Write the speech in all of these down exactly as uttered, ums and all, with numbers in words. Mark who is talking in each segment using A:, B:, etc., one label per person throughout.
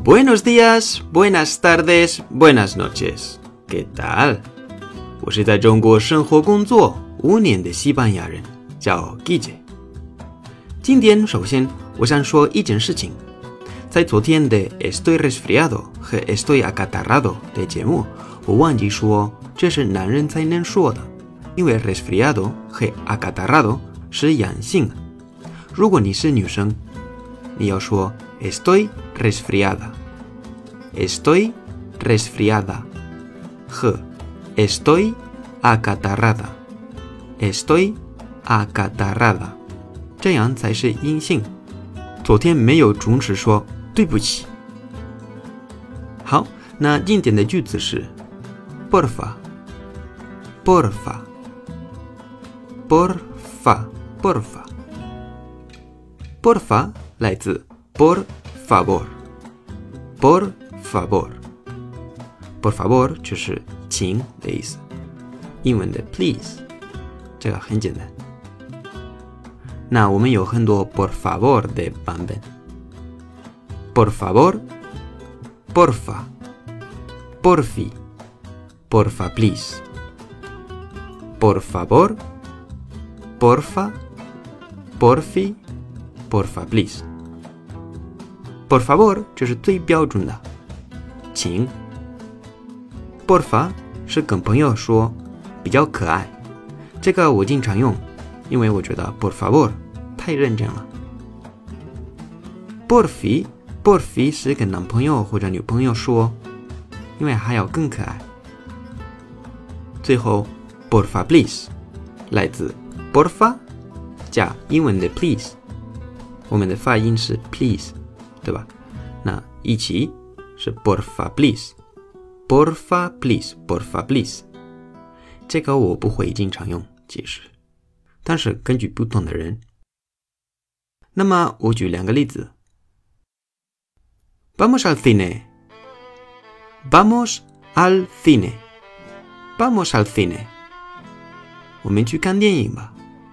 A: Buenos días, buenas tardes, buenas noches. ¿Qué tal? 我是在中国生活工作五年的西班牙人，叫 Guille。今天首先我想说一件事情，在昨天的 Estoy resfriado 和 Estoy acatarrado 的节目，我忘记说这是男人才能说的，因为 resfriado 和 acatarrado 是阳性的。如果你是女生，你要说 Estoy resfriada Estoy resfriada 和 Estoy acatarrada Estoy acatarrada 这样才是阴性。昨天没有准时说对不起。好，那今天的句子是 Porfa Porfa Porfa Porfa Porfa 来自 Por favor Por favor Por favor 就是请的意思，英文的 please 这个很简单。那我们有很多 por favor 的版本， por favor Porfa Porfi Porfa please Por favor Porfa Porfi Porfa please Por favor 这是最标准的请， Porfa 是跟朋友说比较可爱，这个我经常用，因为我觉得 Por favor 太认真了。 Porfi Porfi 是跟男朋友或者女朋友说，因为还要更可爱。最后 Porfa please 来自 Porfa 加英文的 please， 我们的发音是 please对吧？那一起是 Porfa please Porfa please Porfa please 这个我不会经常用其实，但是根据不同的人。那么我举两个例子。 Vamos al cine Vamos al cine Vamos al cine 我们去看电影吧。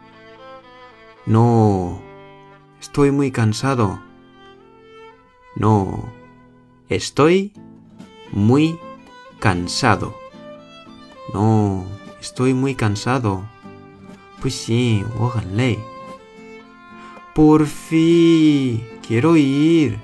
A: No Estoy muy cansado No, estoy muy cansado. No, estoy muy cansado. 不行，我很累。Por fin, quiero ir.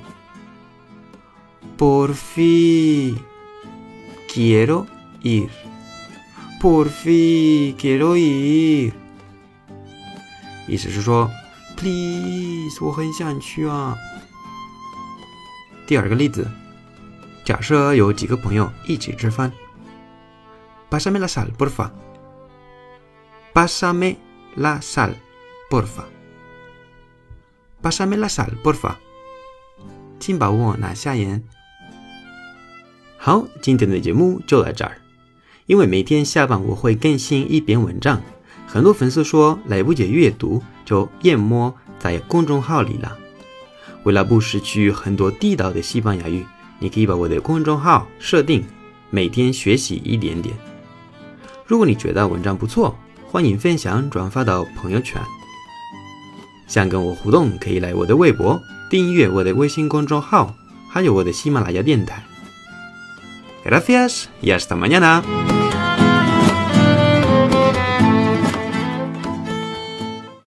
A: Por fin, quiero ir. Por fin, quiero ir. 意思是说 ，please， 我很想去啊。第二个例子，假设有几个朋友一起吃饭。 Pásame la sal, porfa. Pásame la sal, porfa. Pásame la sal, porfa. 请帮我拿下盐。好，今天的节目就到这儿。因为每天下班我会更新一篇文章，很多粉丝说来不及阅读，就淹没在公众号里了。为了不失去很多地道的西班牙语，你可以把我的公众号设定每天学习一点点。如果你觉得文章不错，欢迎分享转发到朋友圈。想跟我互动，可以来我的微博，订阅我的微信公众号，还有我的喜马拉雅电台。Gracias y hasta mañana.